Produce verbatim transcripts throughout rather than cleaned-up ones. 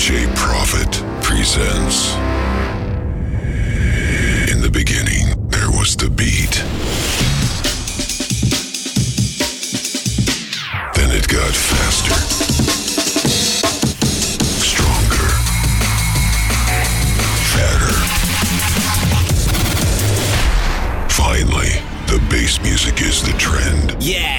джей Prophet presents. In the beginning, there was the beat. Then it got faster, stronger, fatter. Finally, the bass music is the trend. Yeah!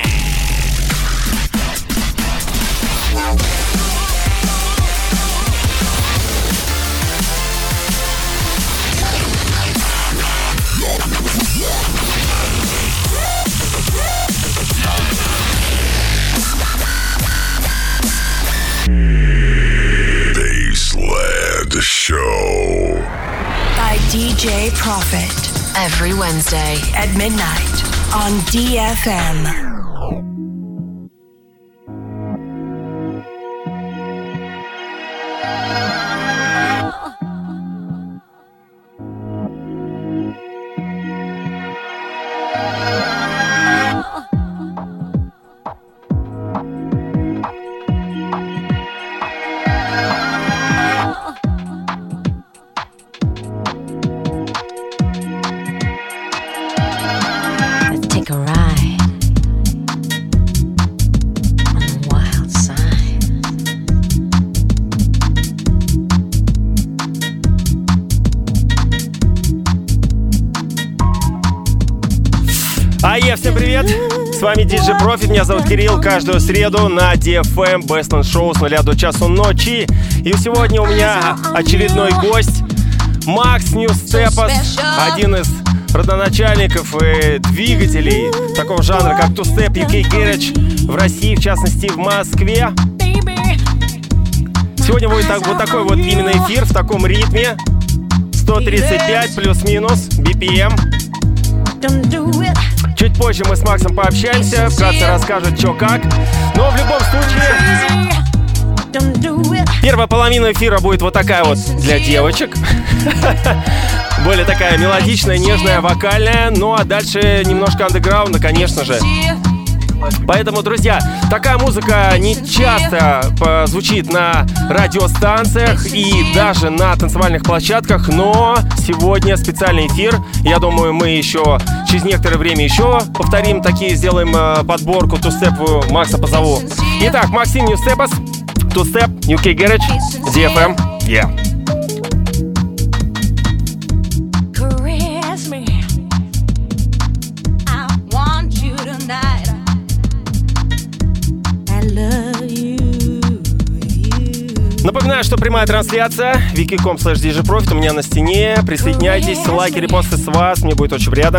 Bassland Show by ди джей Prophet every Wednesday at midnight on ди эф эм. Ае, всем привет! С вами ди джей Profit, меня зовут Кирилл. Каждую среду на ди эф эм Bassland Show с нуля до часу ночи. И сегодня у меня очередной гость Макс Ньюстепас, один из родоначальников и двигателей такого жанра, как Two-Step ю кей Garage в России, в частности в Москве. Сегодня будет так, вот такой вот именно эфир в таком ритме. сто тридцать пять плюс-минус би пи эм. Чуть позже мы с Максом пообщаемся, вкратце расскажет, что как. Но в любом случае, первая половина эфира будет вот такая вот для девочек. Более такая мелодичная, нежная, вокальная. Ну а дальше немножко андеграунда, конечно же. Поэтому, друзья, такая музыка не часто звучит на радиостанциях и даже на танцевальных площадках, но сегодня специальный эфир. Я думаю, мы еще через некоторое время еще повторим такие, сделаем подборку Two-Step. Макса позову. Итак, Максим Ньюстепас, Two-Step, ю кей Garage, ди эф эм. Yeah. Напоминаю, что прямая трансляция wiki точка com слэш ди джей Profit у меня на стене. Присоединяйтесь, лайки, репосты с вас. Мне будет очень приятно.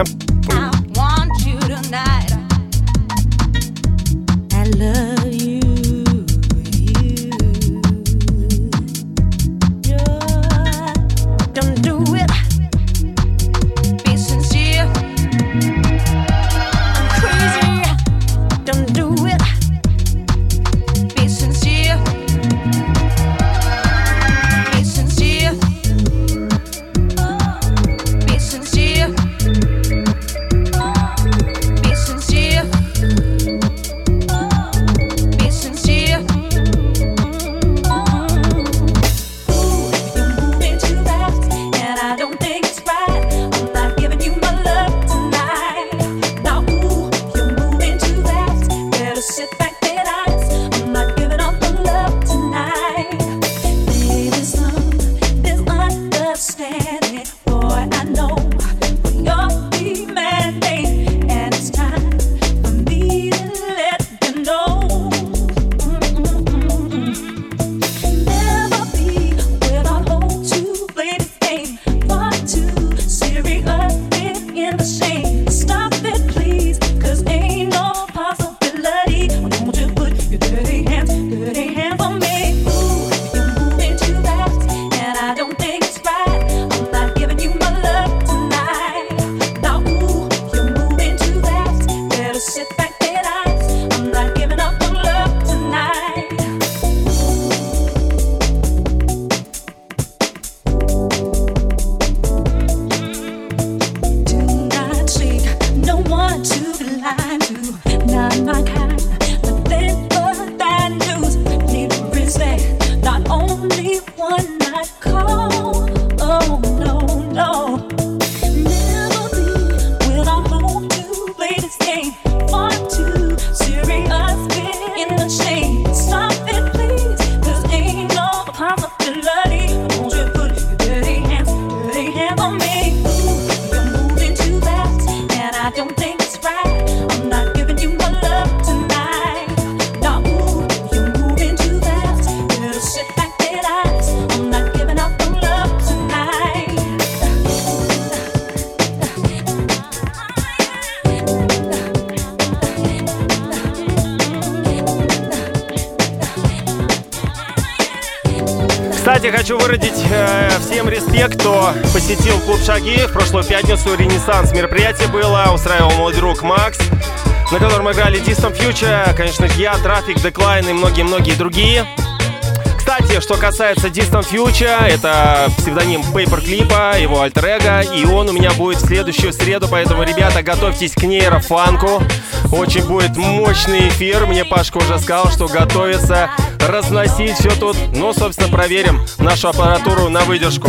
Кстати, хочу выразить э, всем респект, кто посетил клуб «Шаги». В прошлую пятницу ренессанс мероприятие было, устраивал мой друг Макс, на котором играли Distant Future, конечно, я, Traffic, Decline и многие-многие другие. Кстати, что касается Distant Future, это псевдоним Paperclip'а, его альтер-эго, и он у меня будет в следующую среду, поэтому, ребята, готовьтесь к нейрофанку. Очень будет мощный эфир. Мне Пашка уже сказал, что готовится разносить все тут. Ну, собственно, проверим нашу аппаратуру на выдержку.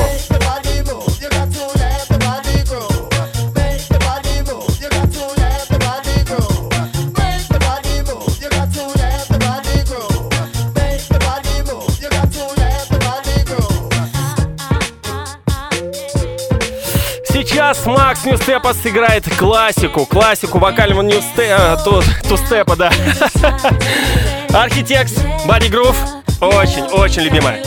Сейчас Макс Ньюстепа сыграет классику, классику вокального ньюстепа, ту, тустепа, да. Architects, Body Groove, очень-очень любимая.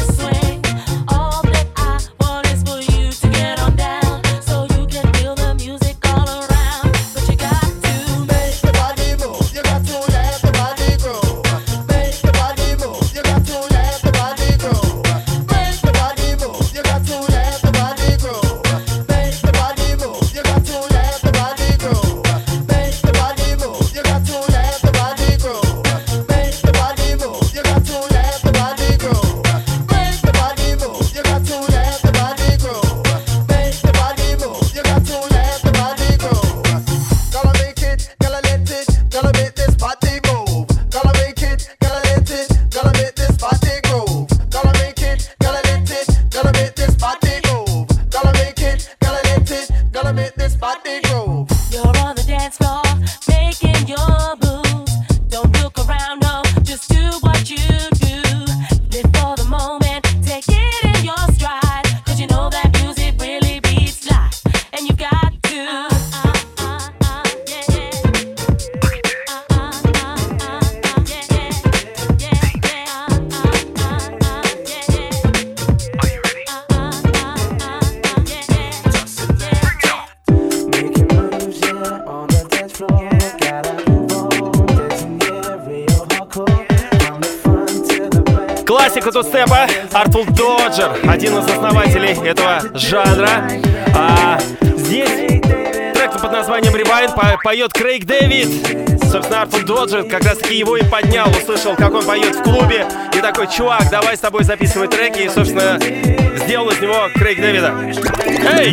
Классика тустепа, Artful Dodger, один из основателей этого жанра. А, здесь трек под названием Rewind по- поет Крейг Дэвид. Собственно, Artful Dodger как раз таки его и поднял, услышал, как он поет в клубе. И такой: чувак, давай с тобой записывать треки. И, собственно, сделал из него Крейг Дэвида. Эй!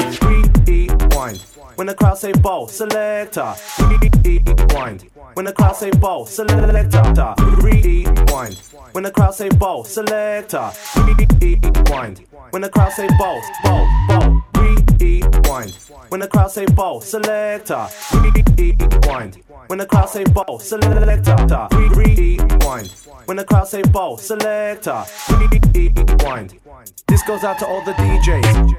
When the crowd say ball, selector, rewind. When the crowd say ball, selector, rewind. When the crowd say ball, selector, rewind. When the crowd say ball, ball, ball, rewind. When the crowd say ball, selector, rewind. When the crowd say ball, selector, rewind. When the crowd say ball, selector, rewind. This goes out to all the D Js.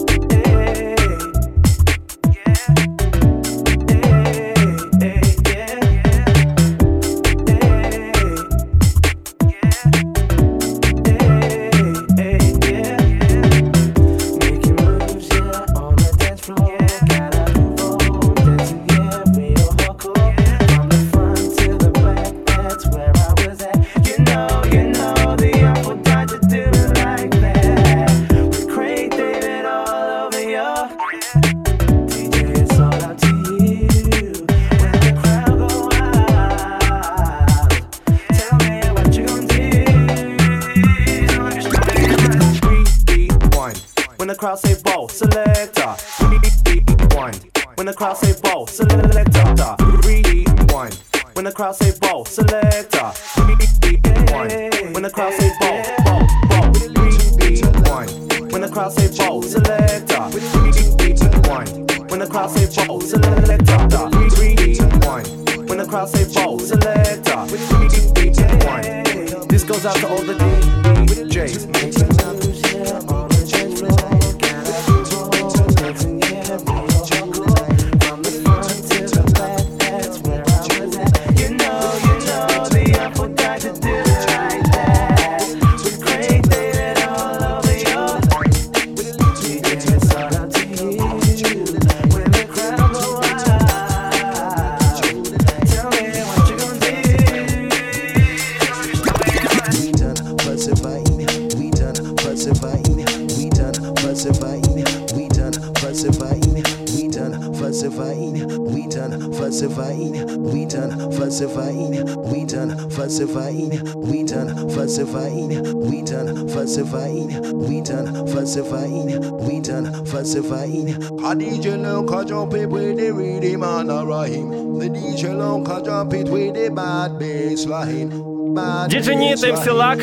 When the crowd say ball, selector, rewind. When the crowd say ball, selector, rewind. When the crowd say ball, selector, rewind. When the crowd say ball, ball, ball, rewind. crowd say roll, selector. Rewind. When the crowd say roll, selector. Rewind. When the crowd say roll, selector. Rewind. This goes out to all the D Js. We done falsifying, we done falsifying, we done falsifying, we done falsifying, we done falsifying, we done falsifying. A D J long can jump it with the rhythm and a rhyme. The D J long can jump it with the bad bass line. диджей Нит, эм си Лак,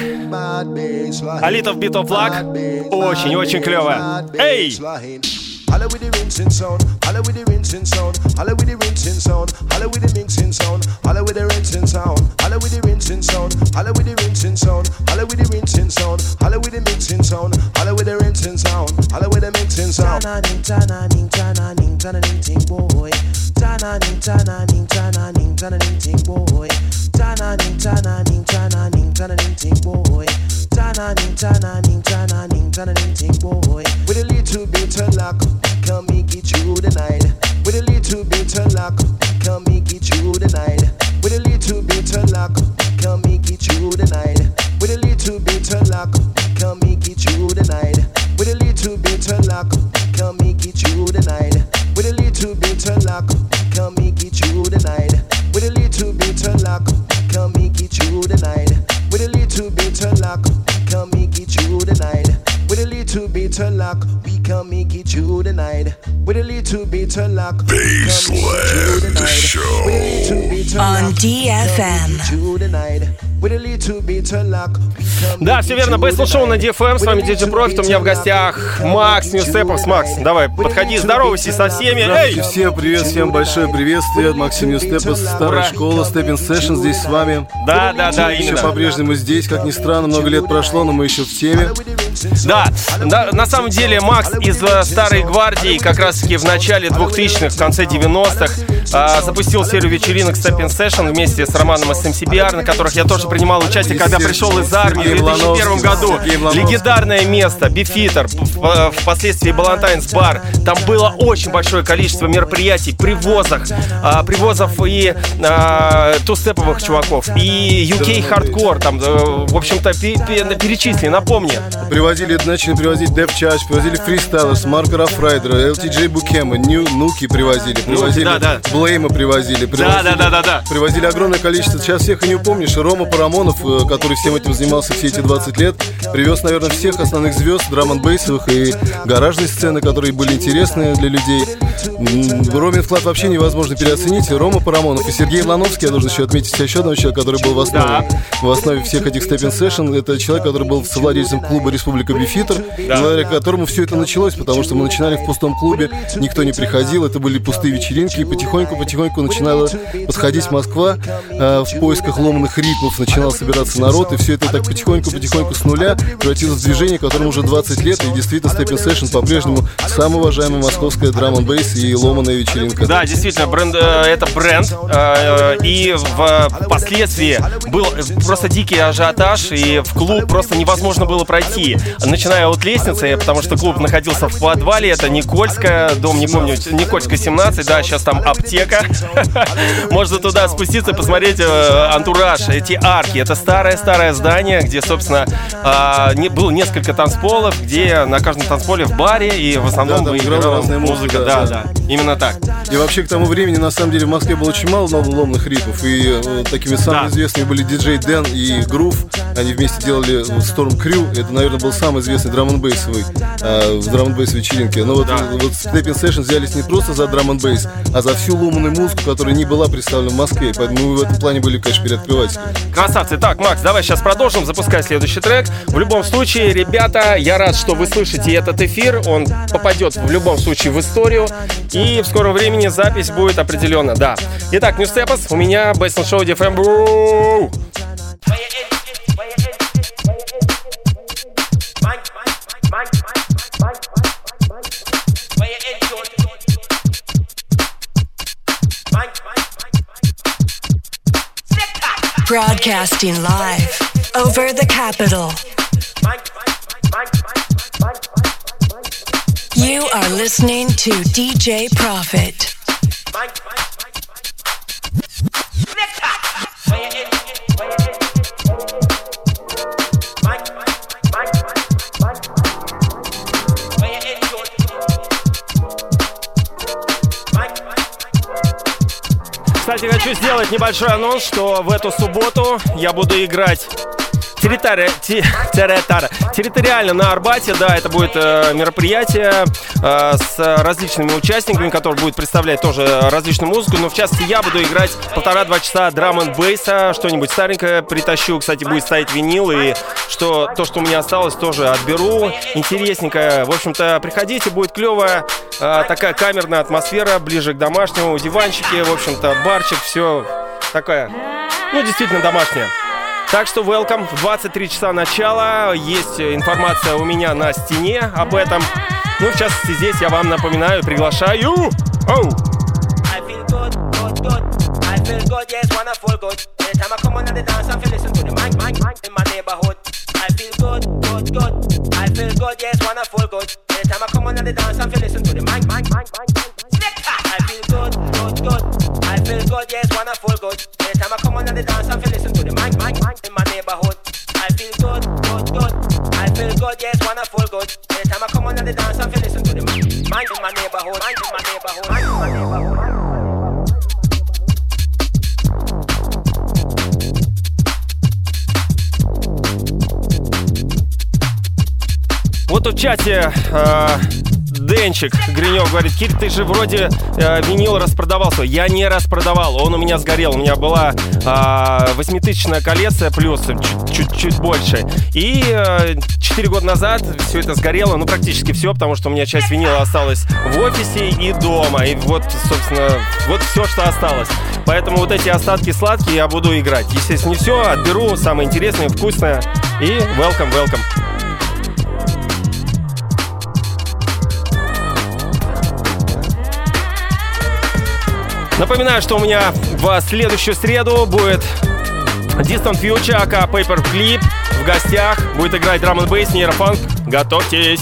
A Little Bit of Luck. Очень-очень клево. Эй! Holla with the rinsing sound, holla with the rinsing sound, holla with the rinsing sound, holla with the mixing sound, holla with the rinsing sound, holla with the rinsing sound, holla with the rinsing sound, holla with the rinsing sound, holla with the mixing sound, holla with the rinsing sound, holla with the mixing sound. Tananing, tananing, tananing, tananing, ting boy. Tananing, tananing, tananing, tananing, ting boy. Tananing, tananing, tananing, tananing, ting boy. Tananing, tananing, tananing, tananing, ting boy. With a little bit of luck, can make it through the night. With a little bit of luck, can make it through the night. With a little bit of luck, can make it through the night. With a little bit of luck, can make it through the night. With a little bit of luck, can make it through the night. With a little bit of luck, can make it through the night. With a little bit of luck, can make it through the night. With a little bit of luck, can make it through the night. With a little bit of luck, we can make it through the night. With a little bit of luck, Baseland Show on ди эф эм. Да, все верно, Baseland Show на ди эф эм. С вами диджей Profit, у меня в гостях Макс Ньюстепов. Макс, давай, подходи, здоровайся со всеми. Эй! Всем привет, всем большое приветствие. Максим Ньюстепов, старая школа, Stepping Session здесь с вами. Да, да, да, еще именно. по-прежнему здесь, как ни странно, много лет прошло, но мы еще в теме. Да, да, на самом деле Макс из Старой Гвардии как раз-таки в начале двухтысячных, в конце девяностых а, запустил серию вечеринок Stepping Session вместе с Романом из эм си би ар, на которых я тоже принимал участие, когда пришел из армии в две тысячи первом году. Легендарное место, Бифитер, впоследствии Балантайнс бар. Там было очень большое количество мероприятий, привозов, а, привозов и а, тустеповых чуваков, и ю кей хардкор, там, в общем-то, перечисли, напомни. Привозили, начали привозить Dev Charge, привозили Freestylers, Марка Рафрайдера, эл ти джей Букема, Нуки привозили, привозили, да, да. Блейма привозили, привозили, да, да, да, да. привозили огромное количество. Сейчас всех и не упомнишь. Рома Парамонов, который всем этим занимался все эти двадцать лет, привез, наверное, всех основных звезд драм-н-бейсовых и гаражной сцены, которые были интересны для людей. Ромин вклад вообще невозможно переоценить. Рома Парамонов и Сергей Лановский, я должен еще отметить еще одного человека, который был в основе, да. в основе всех этих Stepping Session. Это человек, который был совладельцем клуба Республика Бифитер, да. благодаря которому все это началось, потому что мы начинали в пустом клубе, никто не приходил, это были пустые вечеринки, и потихоньку-потихоньку начинала подходить Москва э, в поисках ломаных ритмов, начинал собираться народ, и все это так потихоньку-потихоньку с нуля превратилось в движение, которому уже двадцать лет, и действительно Stepping Session по-прежнему самая уважаемая московская драм-н-бейс и ломаная вечеринка. Да, действительно, бренд, э, это бренд, э, и впоследствии был просто дикий ажиотаж, и в клуб просто невозможно было пройти, начиная от лестницы, потому что клуб находился в подвале, это Никольская, дом, не помню, Никольская семнадцать, да, сейчас там аптека. Можно туда спуститься и посмотреть э, антураж, эти арки. Это старое-старое здание, где, собственно, э, не, было несколько танцполов, где на каждом танцполе в баре и в основном да, играла разная музыка. музыка. Да, Да, да, именно так. И вообще к тому времени, на самом деле, в Москве было очень мало ломных ритмов, и э, такими самыми да. известными были диджей Дэн и Грув. Они вместе делали Storm Crew. Это, наверное, был самый известный драм-н-бейсовый э, в драм-н-бейс вечеринке. Но вот, да. вот Stepping Session взялись не просто за драм-н-бейс, а за всю ломаную музыку, которая не была представлена в Москве. Поэтому мы в этом плане были, конечно, переоткрыватели. Красавцы. Так, Макс, давай сейчас продолжим. Запускай следующий трек. В В любом случае, ребята, я рад, что вы слышите этот эфир. Он попадет в любом случае в историю. И в скором времени запись будет определенно, да. Итак, Ньюстепас, у меня Бейсленд Шоу ди эф эм. Broadcasting live over the capital. You are listening to ди джей Profit. Кстати, хочу сделать небольшой анонс, что в эту субботу я буду играть территори... территориально на Арбате. Да, это будет э, мероприятие э, с различными участниками, которые будут представлять тоже различную музыку. Но в частности я буду играть полтора-два часа драм-н-бейса, что-нибудь старенькое притащу. Кстати, будет стоять винил, и что, то, что у меня осталось, тоже отберу. Интересненькое. В общем-то, приходите, будет клевая э, такая камерная атмосфера, ближе к домашнему, диванчики, в общем-то, барчик, все такое, ну, действительно домашнее. Так что welcome, в двадцать три часа начала, есть информация у меня на стене об этом. Ну, в частности, здесь я вам напоминаю, приглашаю. Оу! I feel good, yes, wanna feel good. Anytime I come on the dance, I feel listen to the mic, mic, mic in my neighborhood. I feel good, good, good. I feel good, yes, wanna feel good. Anytime I come on the dance, I feel listen to the mic, mic in my neighborhood, mic in my neighborhood, mic in my neighborhood. Вот в чате э, Денчик Гринев говорит: Кир, ты же вроде э, винил распродавался. Я не распродавал, он у меня сгорел. У меня была э, восьмитысячная коллекция плюс чуть-чуть больше. И э, четыре года назад все это сгорело, ну практически все, потому что у меня часть винила осталась в офисе и дома. И вот, собственно, вот все, что осталось. Поэтому вот эти остатки сладкие я буду играть. Естественно, не все, отберу самое интересное, вкусное. И welcome, welcome. Напоминаю, что у меня в следующую среду будет Distant Future, ака Paperclip. В гостях будет играть драм н бейс, нейрофанк. Готовьтесь!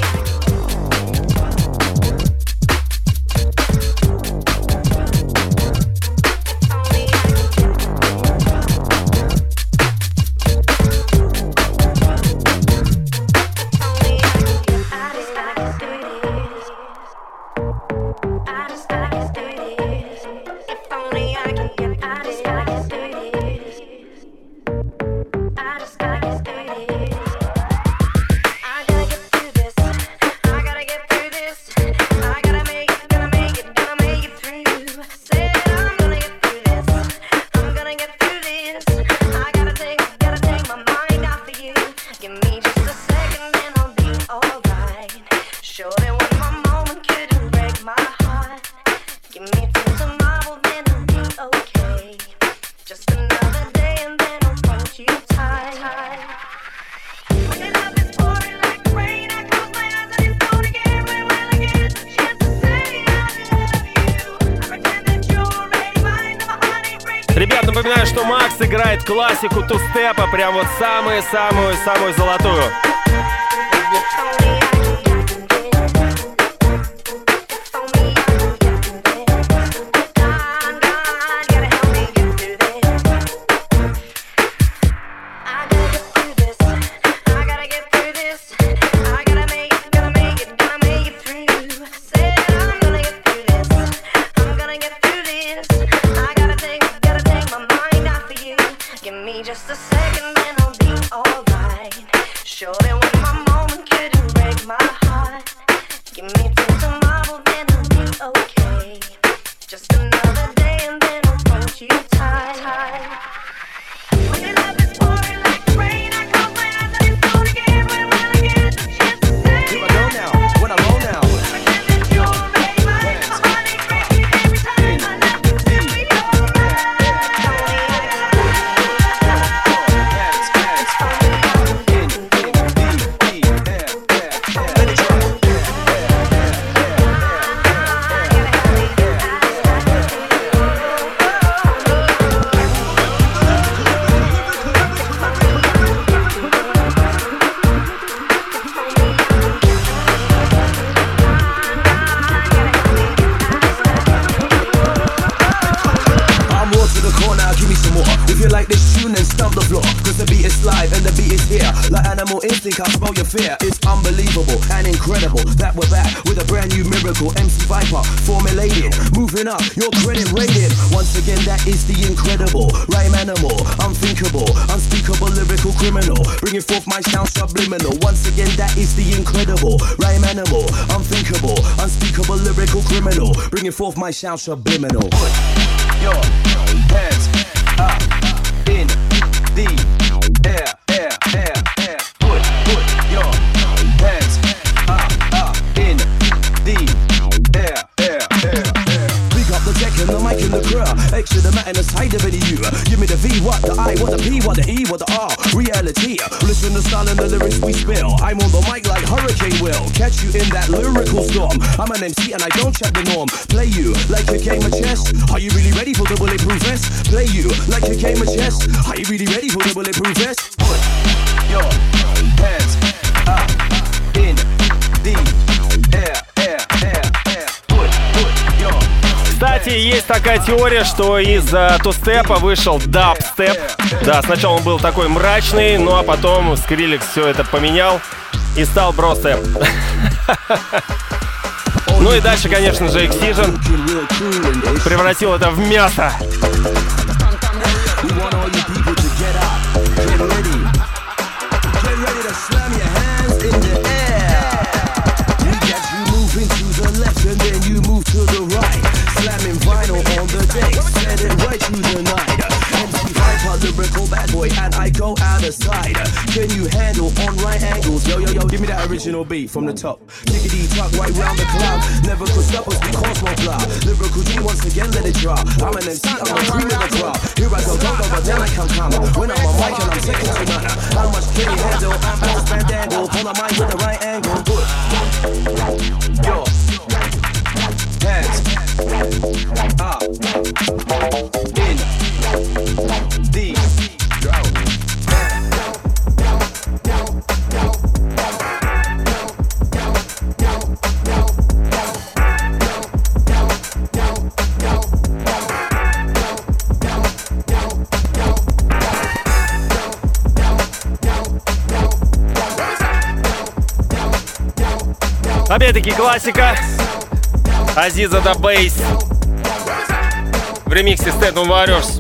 Ребят, напоминаю, что Макс играет классику тустепа, прям вот самую-самую-самую золотую. dispel your fear. It's unbelievable and incredible that we're back with a brand new miracle. M C Viper formulated, moving up your credit rating. Once again, that is the incredible rhyme animal, unthinkable, unspeakable lyrical criminal, bringing forth my sound subliminal. Once again, that is the incredible rhyme animal, unthinkable, unspeakable lyrical criminal, bringing forth my sound subliminal. Put your hands up in the air, air, air, air. Put, put your hands up, up in the air, air, air, air. Big up the deck and the mic and the crew. Extra the mat and the side of it you. Give me the V, what the I, what the P, what the E, what the R. Reality. Listen to the style and the lyrics we spill. I'm on the mic like Hurricane Will. Catch you in that lyrical storm. I'm an M C and I don't check the norm. Play you like a game of chess. Are you really ready for the bulletproof vest? Play you like a game of chess. Are you really ready for the bulletproof vest? Put your hands up in the air, air, air, air. Put, put your. Кстати, есть такая теория, что из uh, тустепа вышел дабстеп. Да, сначала он был такой мрачный, ну а потом Скриллекс все это поменял и стал бростеп. Ну и дальше, конечно же, Excision превратил это в мясо. Slamming vinyl on the day, set it right through the night. M C Viper, lyrical bad boy, and I go out of sight. Can you handle on right angles? Yo, yo, yo, give me that original beat from the top. Tickety tuck right round the cloud. Never could stop us because we're fly. Lyrical G once again, let it drop. I'm an M C, I'm the cream of the crop. Here I go, go, go, but then I come come. When I'm on mic and I'm second to none. How much can you handle? I'm on stand angle. Pull the mic with the right angle. Good. Yo. Hands up in the Опять-таки классика. Азиза да Бейс в ремиксе Staten Warriors.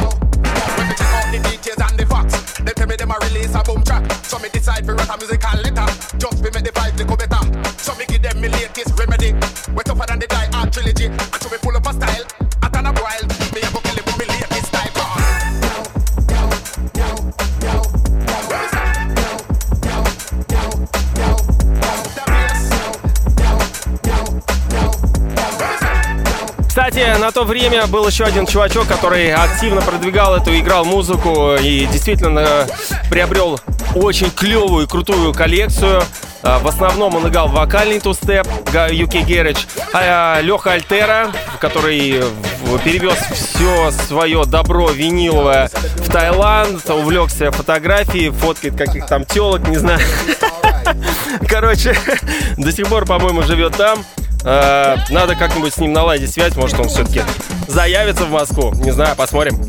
Кстати, на то время был еще один чувачок, который активно продвигал эту, играл музыку и действительно приобрел очень клевую и крутую коллекцию. В основном он играл вокальный тустеп, ю кей Garage, а Леха Альтера, который перевез все свое добро виниловое в Таиланд, увлекся фотографией, фоткает каких-то там телок, не знаю. Короче, до сих пор, по-моему, живет там. Надо как-нибудь с ним наладить связь, может, он все-таки заявится в Москву. Не знаю, посмотрим.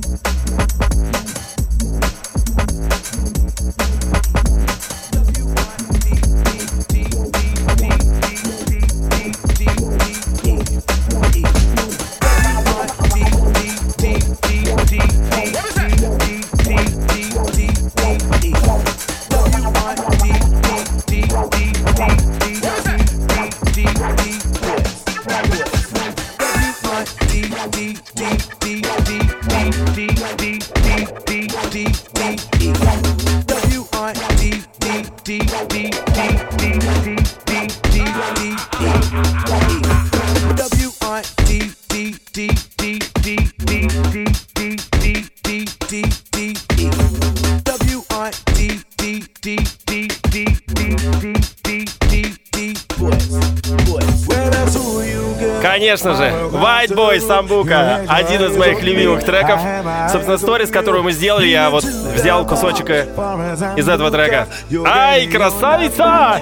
Конечно же, White Boy Самбука, один из моих любимых треков. Собственно, сторис, которую мы сделали, я вот взял кусочек из этого трека. Ай, красавица!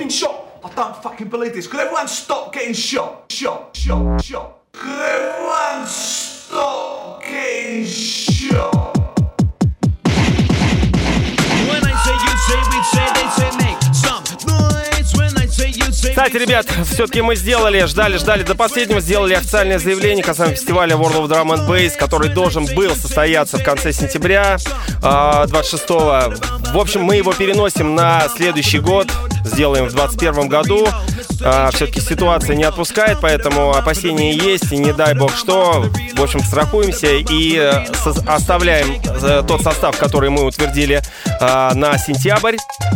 fucking shot. I don't fucking believe this. Could everyone stop getting shot? Shot, shot, shot. Could everyone stop getting shot? When I say you say, we say, they say make some noise. When I say you say. Кстати, ребят, все-таки мы сделали, ждали, ждали до последнего, сделали официальное заявление касаемо фестиваля World of Drum and Bass, который должен был состояться в конце сентября, двадцать шестого. В общем, мы его переносим на следующий год, сделаем в двадцать первом году. Все-таки ситуация не отпускает, поэтому опасения есть, и не дай бог что. В общем, страхуемся и оставляем тот состав, который мы утвердили на сентябрь.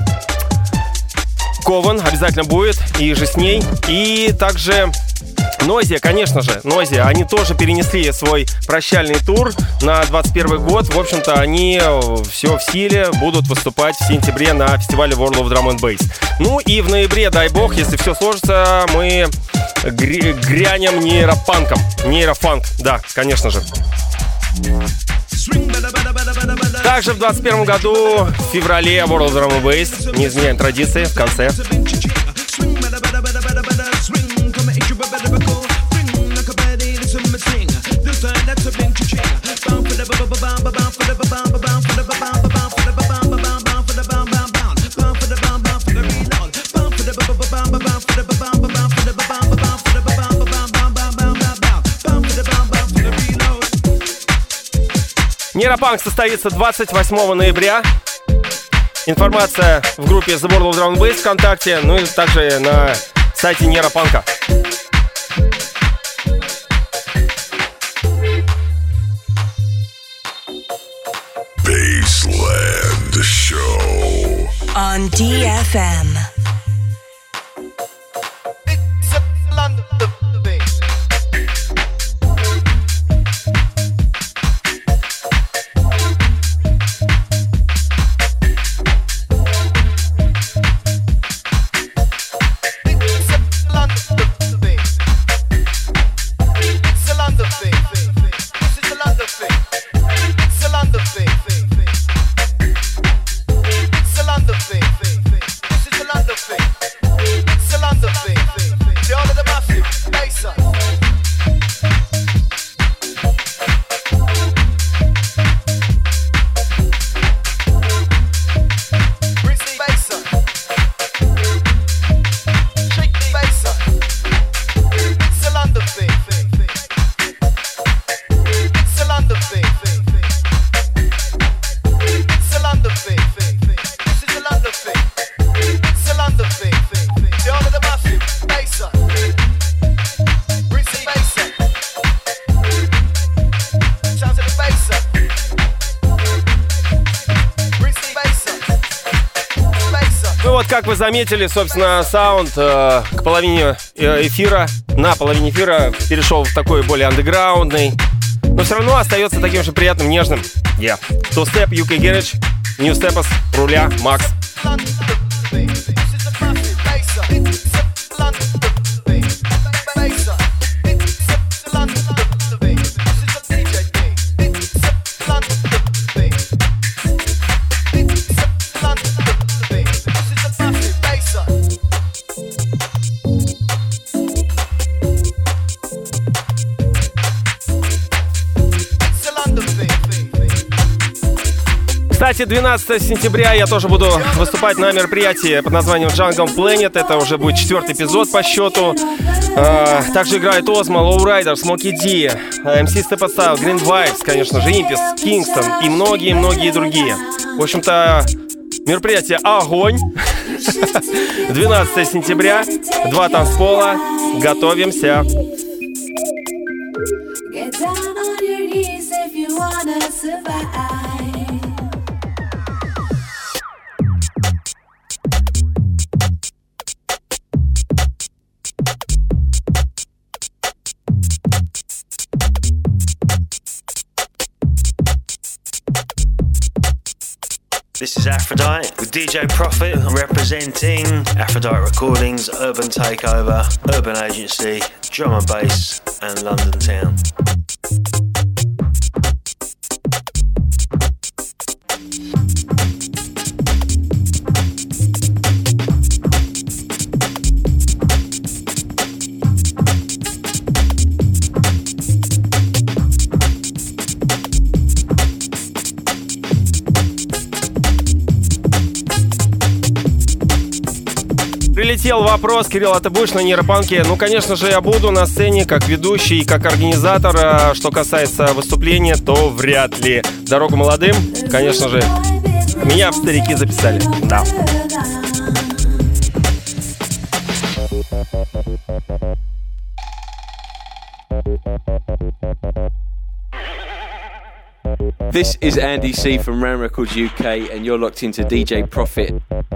Кован обязательно будет, и же с ней. И также Noisia, конечно же, Noisia, они тоже перенесли свой прощальный тур на двадцать первый год. В общем-то, они все в силе, будут выступать в сентябре на фестивале World of Drum and Bass. Ну и в ноябре, дай бог, если все сложится, мы гря- грянем нейропанком. Нейрофанк, да, конечно же. Также в двадцать первом году, в феврале, World of Drum and Bass, не изменяем традиции, в конце. Нейропанк состоится двадцать восьмого ноября. Информация в группе The World of Drum and Bass ВКонтакте, ну и также на сайте Нейропанка. Baseland Show on ди эф эм. Как вы заметили, собственно, саунд э, к половине эфира, на половине эфира перешел в такой более андеграундный, но все равно остается таким же приятным, нежным. Yeah. Two Step, ю кей Garage, New Steps, руля, Макс. Кстати, двенадцатого сентября я тоже буду выступать на мероприятии под названием Jungle Planet. Это уже будет четвертый эпизод по счету. А, также играет Ozma, Lowrider, Smokey D, эм си Step Style, Green Vibes, конечно же, Импис, Kingston и многие-многие другие. В общем-то, мероприятие огонь. двенадцатого сентября, два танцпола. Готовимся. This is Aphrodite with ди джей Profit representing Aphrodite Recordings, Urban Takeover, Urban Agency, Drum and Bass and London Town. Прилетел вопрос: Кирилл, а ты будешь на нейропанке? Ну, конечно же, я буду на сцене как ведущий и как организатор. А что касается выступления, то вряд ли. Дорогу молодым, конечно же, меня в старики записали. Да. This is Andy C from Ram Records U K, and you're locked into D J Profit.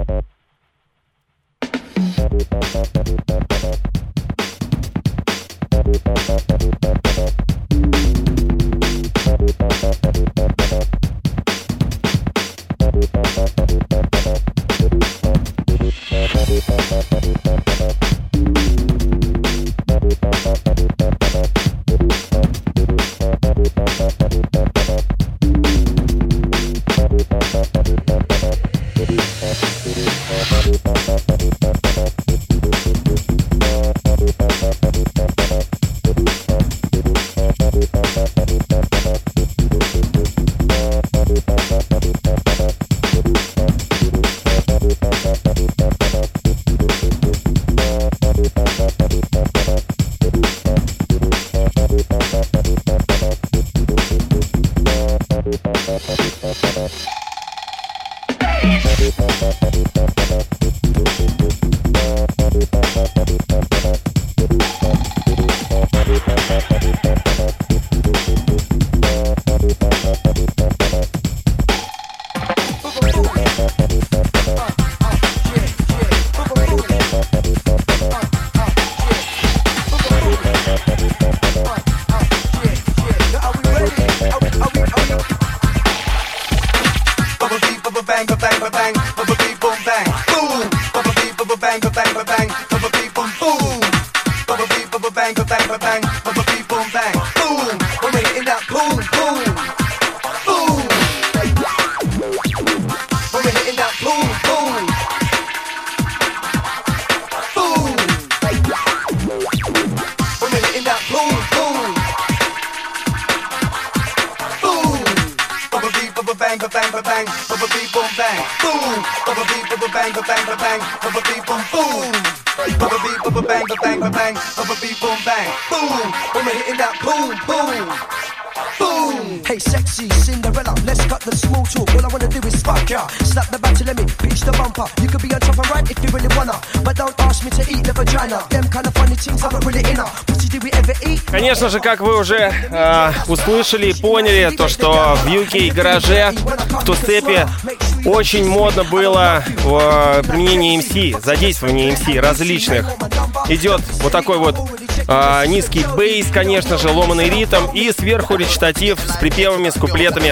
Конечно же, как вы уже э, услышали и поняли, то, что в ю кей гараже, в тустепе очень модно было э, применение эм си, задействование эм си различных. Идет вот такой вот э, низкий бейс, конечно же, ломаный ритм и сверху речитатив с припевами, с куплетами.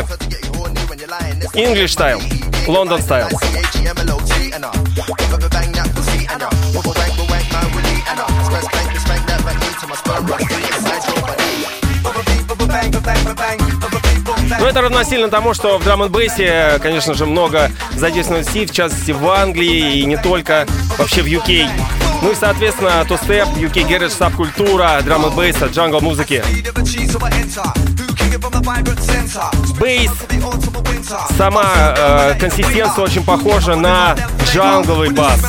English style, London style. Но это равносильно тому, что в драм-н-бейсе, конечно же, много задействовано си, в частности в Англии и не только, вообще в ю кей. Ну и, соответственно, тустеп, ю кей гараж, сабкультура, драм-н-бейса, джангл-музыки. Бейс, сама э, консистенция очень похожа на джангловый бас.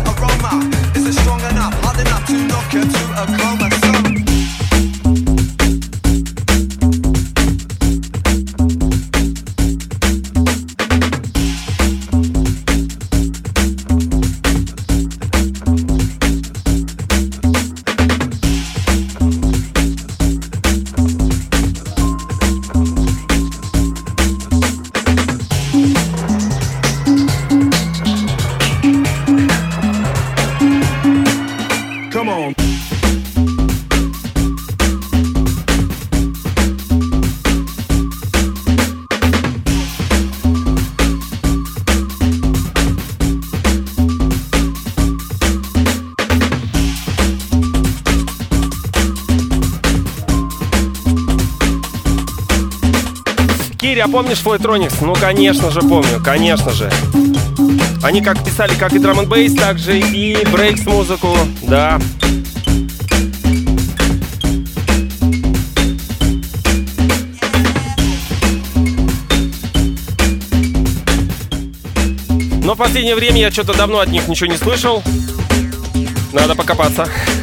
А помнишь Флойтроникс? Ну, конечно же, помню, конечно же. Они как писали, как и драм-н-бейс, так же и брейкс-музыку, да. Но в последнее время я что-то давно от них ничего не слышал. Надо покопаться.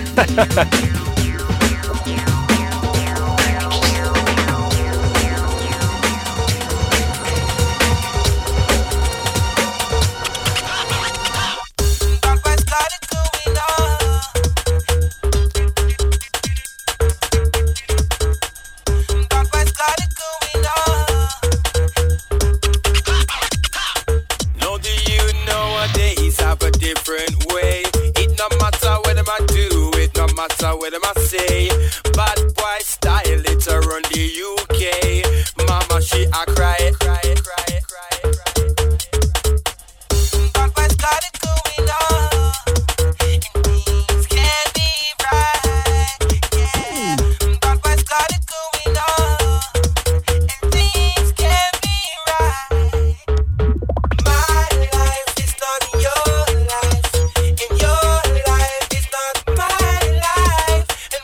What am I say? Bad boy style, it's around the U K. Mama, she a cry, cry, cry, cry, cry. Bad boy started going on, and things can't be right. Yeah, bad boy started going on, and things can't be right. My life is not your life, and your life is not my life.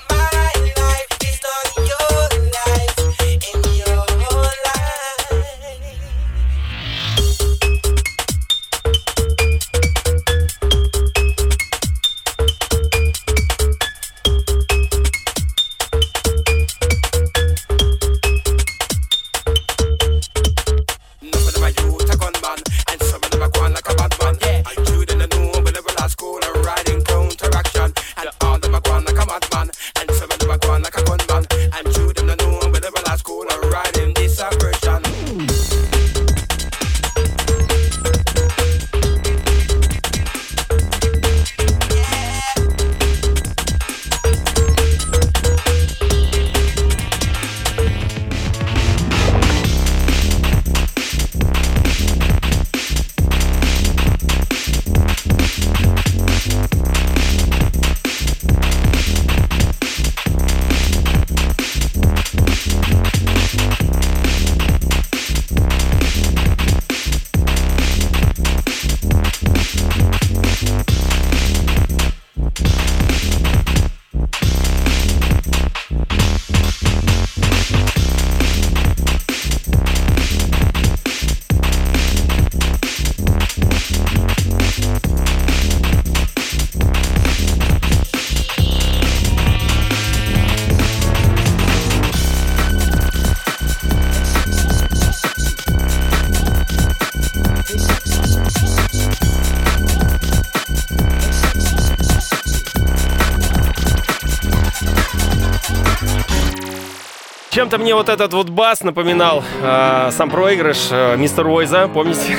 Чем-то мне вот этот вот бас напоминал э, сам проигрыш э, Мистер Уойза, помните?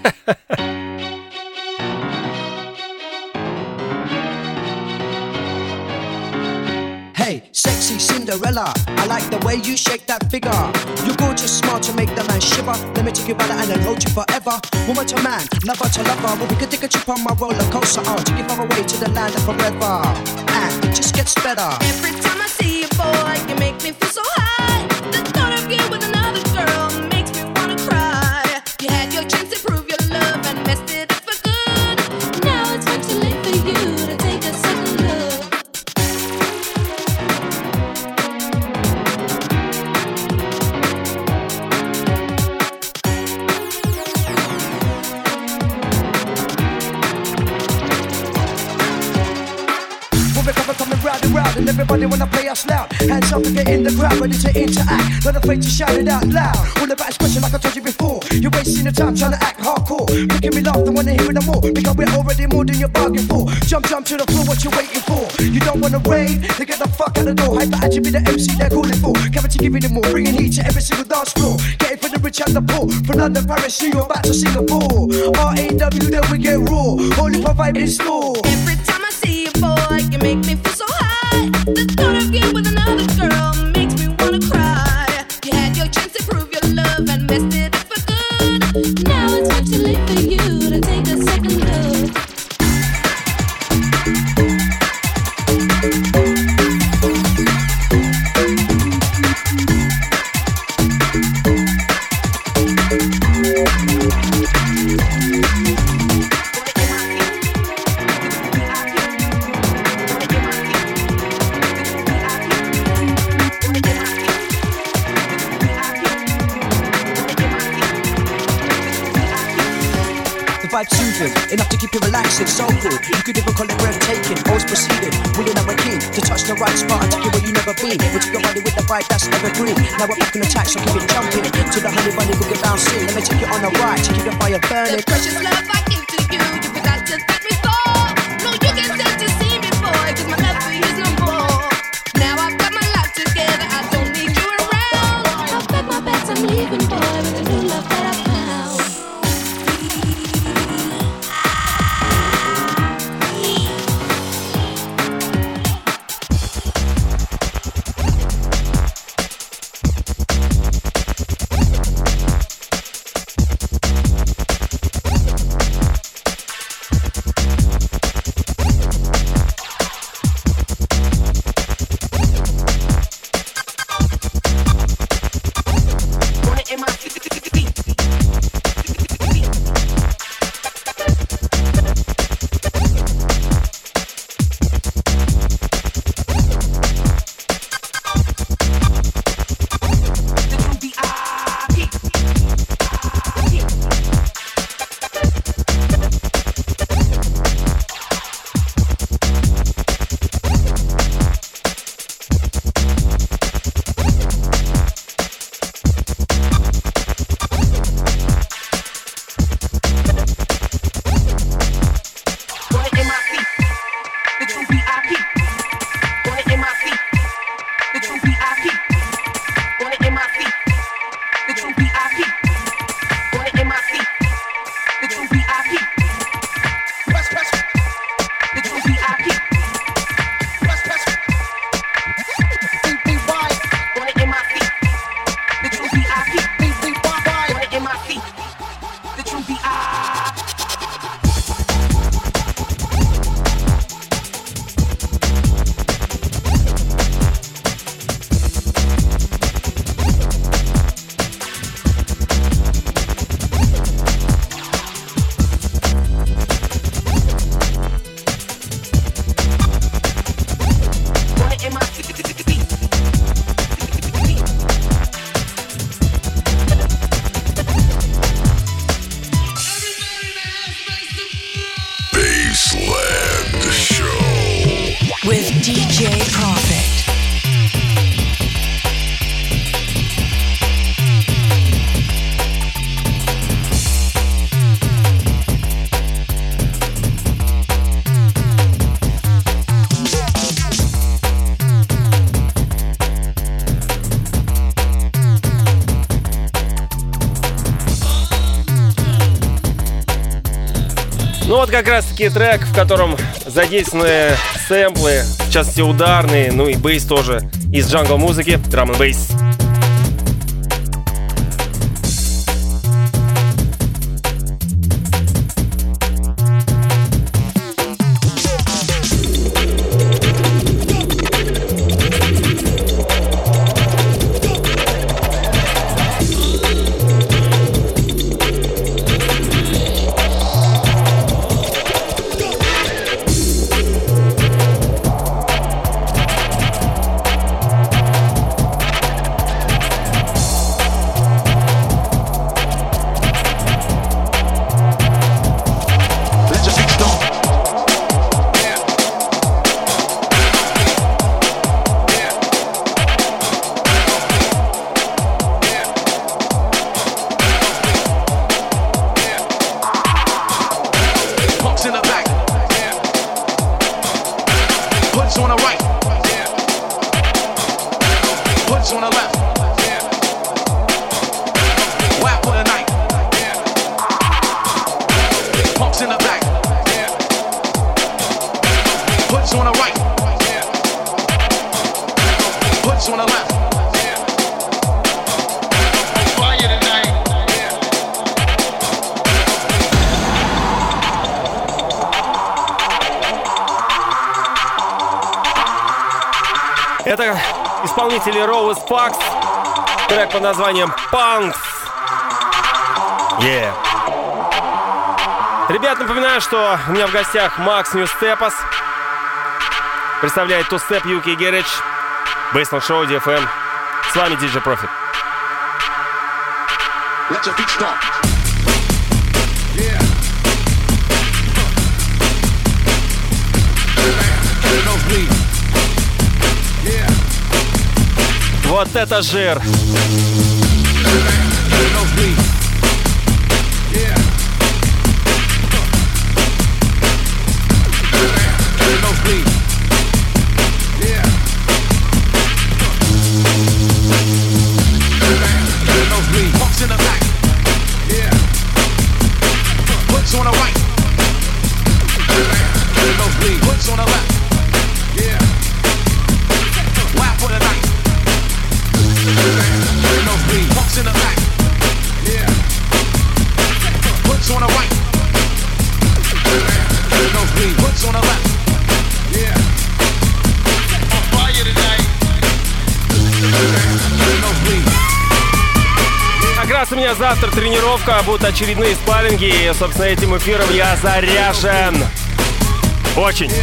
Hey, sexy Cinderella, I like the way you shake that figure. You're gorgeous, smart to make the man shiver. Let me take you by the hand and hold you forever. Woman to man, lover to lover. Well, we could take a trip on my roller coaster. I'll take you far away to the land of forever. And it just gets better. Every time I see you, boy, you make me feel so high. The thought of you with another girl makes me wanna cry. You had your chance to prove your love and messed it up for good. Now it's much too late for you to take a second look. Round and round, and everybody wanna play us loud. Hands up and get in the crowd, ready to interact. Not afraid to shout it out loud. All about expression like I told you before. You're wasting your time trying to act hardcore. Making me laugh, don't wanna hear it no more. Because we're already more than you're bargaining for. Jump, jump to the floor, what you waiting for? You don't wanna rave, then get the fuck out the door. Hyper actually be the M C they're calling for. Cavity giving it more, bringing heat to every single dance floor. Getting for the rich and the poor. From London, Paris, New York, back to Singapore. R A W, then we get raw. Holy vibe in store. Every time I see you, boy, you make me feel so high. The thought of you with another girl makes me wanna cry. You had your chance to prove your love and messed it up for good. Now it's much too late for you to take a second look. relaxing, enough to keep you relaxing. So cool, you could even call it breathtaking. Always proceeding, we ain't never keen to touch the right spot and take you where you never been. We took your body with the vibe that's evergreen. Now we're back on attack, so keep it jumping to the honey bunny boogie bouncing. Let me take you on a ride to keep the fire burning. The precious love I give to you, you forgot to thank me for. No, you can stand to see me, boy, cause my love for you is no more. Now I've got my life together, I don't need you around. I've got my bags, I'm leaving, boy, with the new love that I found. Ну вот как раз таки трек, в котором задействованы сэмплы, в частности ударные, ну и бейс тоже из джангл-музыки, Drum and Bass. Это исполнители Роуз Пакс, трек под названием Punks. Yeah. Ребят, напоминаю, что у меня в гостях Макс Ньюстепас. Представляет Two Step ю кей Garage, Baseline Show, ди эф эм. С вами ди джей Profit. Let your beat start. Yeah. Вот это жир! In the back, yeah. Puts on the right, nosebleed. Puts on the left, yeah. Wow for the night, nosebleed. Puts in the back, yeah. Puts on the right, nosebleed. Puts on the left, yeah. On fire tonight, nosebleed. Как раз у меня завтра тренировка, будут очередные спарринги, и, собственно, этим эфиром я заряжен. Очень.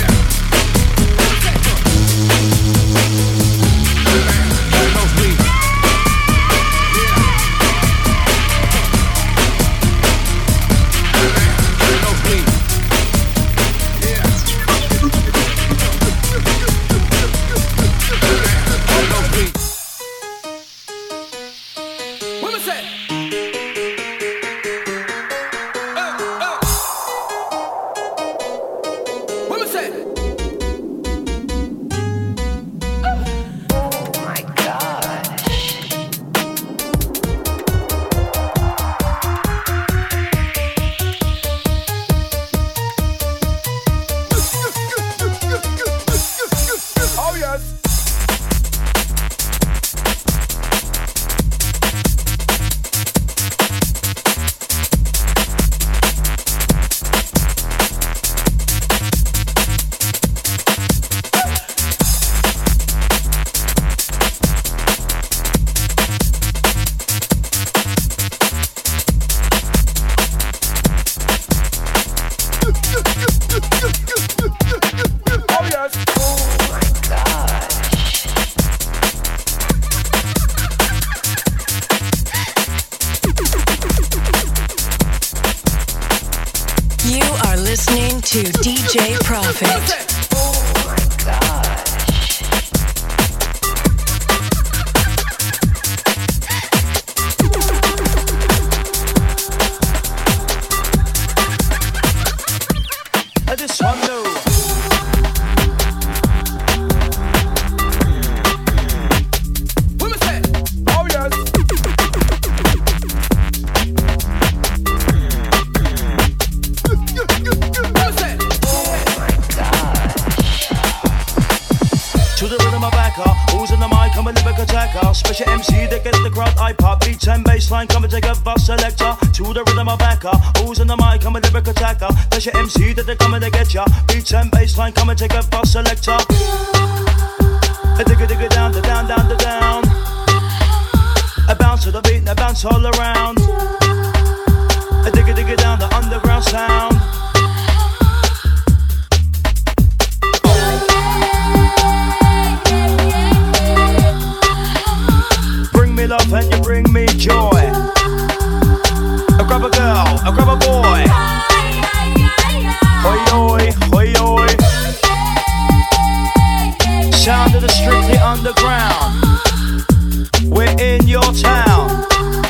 To D J Prophet. Special M C that gets the crowd I pop. Beats and bassline coming together, selector. To the rhythm of backer. Who's in the mic? I'm a lyric attacker. That's your M C that they're coming to get ya. Beats and bassline coming together, selector. A digga digga down, the down, down, the down. A bounce to the beat and a bounce all around. A digga digga down, the underground sound. Love and you bring me joy. I grab a girl, I grab a boy. Hoi hoi, hoi hoi. Sound of the Strictly Underground. We're in your town.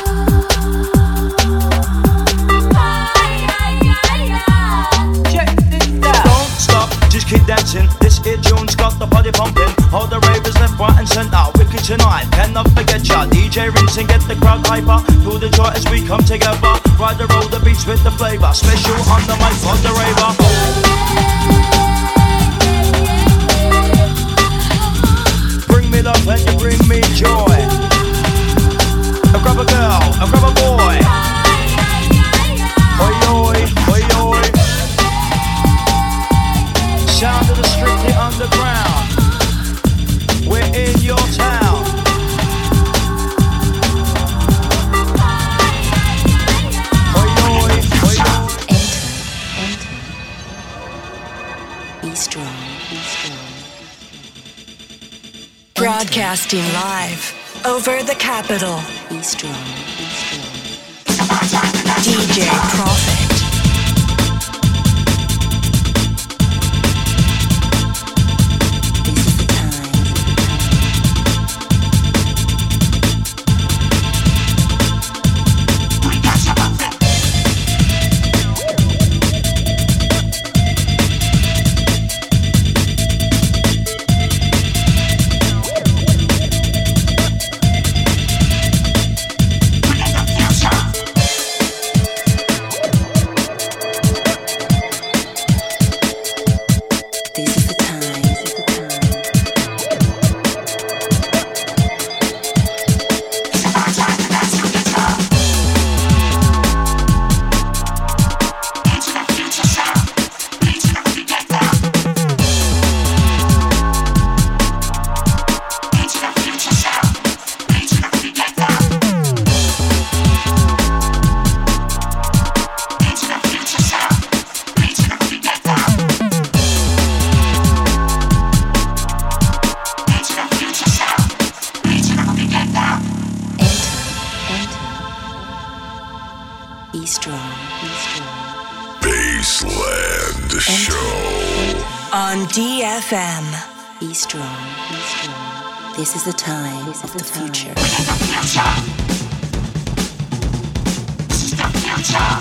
Don't stop, just keep dancing. This here tune's got the body pumping. All the ravers left, right and centre. Wicked tonight, cannot forget ya. D J Rinse and get the crowd hyper. Feel the joy as we come together. Ride the roll, the beats with the flavour. Special on the mic for the raver. Bring me love and you bring me joy. I grab a girl, I grab a boy. Oi oi, oi oi. Sound of the Strictly Underground. We're in your town. Oi oi, oi oi. Enter, enter. Be strong, be strong. Broadcasting live over the capital. Be strong, be strong. D J Prophet. D F M. Be strong. Be strong. This is the time this of the, the future. This is the future.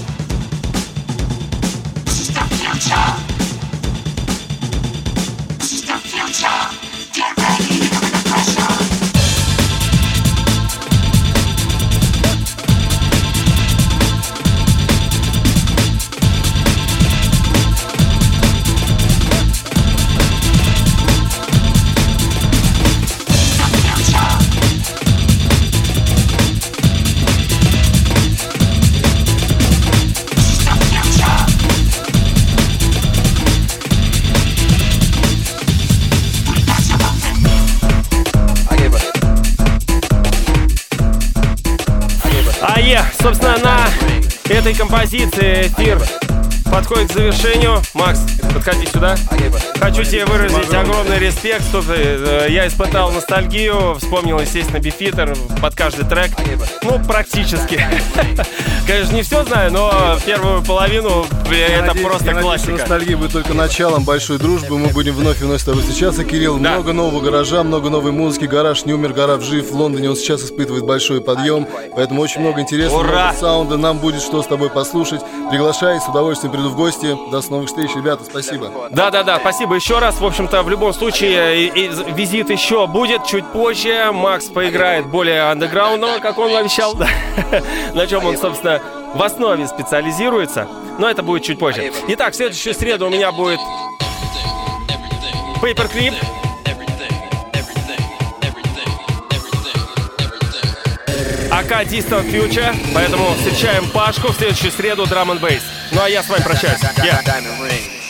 This is the future. This is the future. Get ready for the pressure. Собственно, на этой композиции эфир подходит к завершению. Макс, подходи сюда. Хочу тебе выразить огромный респект. Я испытал ностальгию, вспомнил, естественно, Бифитер под каждый трек. Ну, практически. Конечно, не все знаю, но первую половину это надеюсь, просто классика. Ностальгия будет только началом большой дружбы. Мы будем вновь и вновь с тобой встречаться. Кирилл, да. Много нового гаража, много новой музыки. Гараж не умер, гараж жив. В Лондоне он сейчас испытывает большой подъем. Поэтому очень много интересного, много саунда. Нам будет что с тобой послушать. Приглашай, с удовольствием приду в гости. До новых встреч, ребята, спасибо. Да-да-да, спасибо еще раз. В общем-то, в любом случае, и, и визит еще будет чуть позже. Макс поиграет более андеграундного, как он обещал. На чем он, собственно, в основе специализируется. Но это будет чуть позже. Итак, в следующую среду у меня будет Paperclip. АК Distant Future. Поэтому встречаем Пашку в следующую среду Drum and Bass. Ну а я с вами прощаюсь. Yeah.